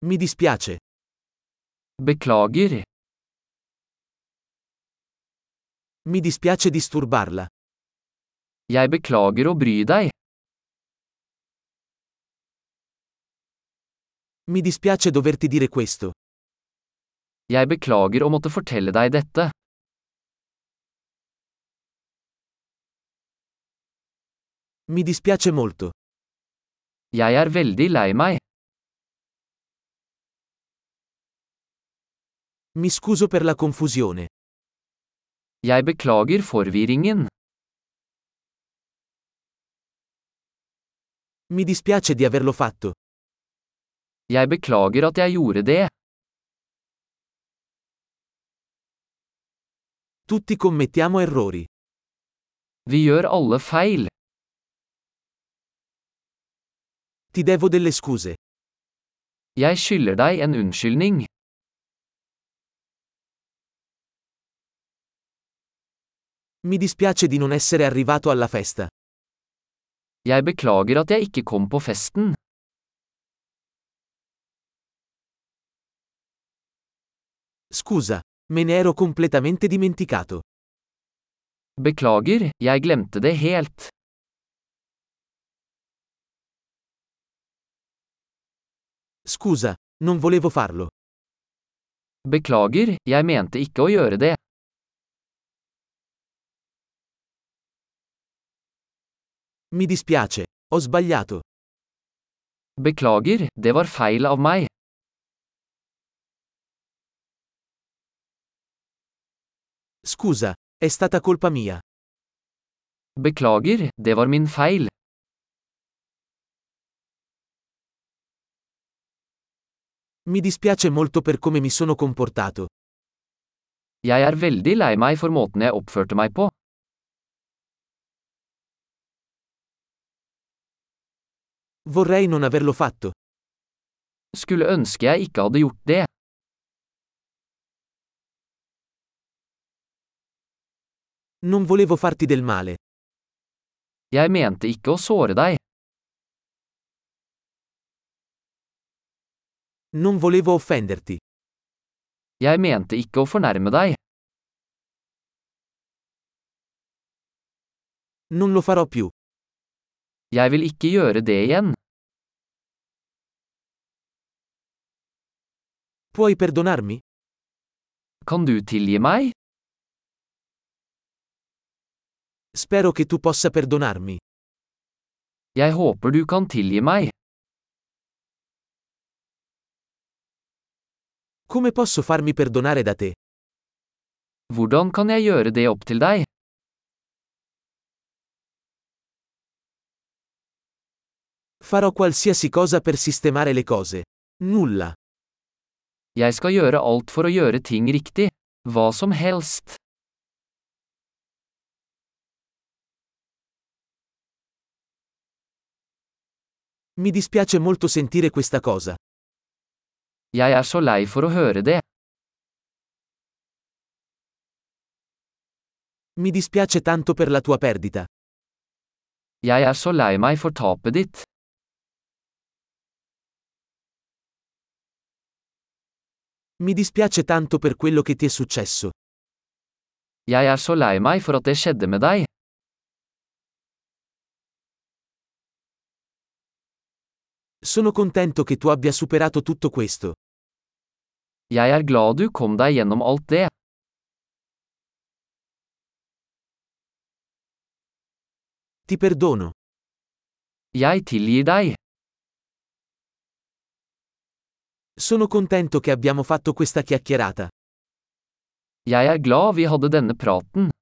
Mi dispiace. Beklager. Mi dispiace disturbarla. Jeg beklager å bry deg. Mi dispiace doverti dire questo. Jeg beklager å måtte fortelle deg dette. Mi dispiace molto. Jeg er veldig lei meg. Mi scuso per la confusione. Jeg beklager forvirringen. Mi dispiace di averlo fatto. Jeg beklager at jeg gjorde det. Tutti commettiamo errori. Vi gjør alle feil. Ti devo delle scuse. Jeg skylder deg en unnskyldning. Mi dispiace di non essere arrivato alla festa. Jeg beklager at jeg ikke kom på festen. Scusa, me ne ero completamente dimenticato. Beklager, jeg glemte det helt. Scusa, non volevo farlo. Beklager, jeg mente ikke å gjøre det. Mi dispiace, ho sbagliato. Beklager, det var feil av meg. Scusa, è stata colpa mia. Beklager, det var min feil. Mi dispiace molto per come mi sono comportato. Jeg er veldig lei meg for måten jeg oppførte meg på. Vorrei non averlo fatto. Skulle ønske jeg ikke hadde gjort det. Non volevo farti del male. Jeg mente ikke å såre deg. Non volevo offenderti. Jeg mente ikke å fornærme deg. Non lo farò più. Jeg vil ikke gjøre det igjen. Puoi perdonarmi? Kan du tilgi meg? Spero che tu possa perdonarmi. Jeg håper du kan tilgi meg. Come posso farmi perdonare da te? Hvordan kan jeg gjøre det opp til deg? Farò qualsiasi cosa per sistemare le cose. Nulla. Jeg skal gjøre alt for å gjøre ting riktig. Hva som helst. Mi dispiace molto sentire questa cosa. Jeg er så lei for å høre det. Mi dispiace tanto per la tua perdita. Jeg er så lei meg for tapet ditt. Mi dispiace tanto per quello che ti è successo. Jeg er så lei meg for at det skjedde med deg. Sono contento che tu abbia superato tutto questo. Jeg er glad du kom deg gjennom alt det. Ti perdono. Jeg tilgir deg. Sono contento che abbiamo fatto questa chiacchierata. Jeg er glad vi hadde denne praten.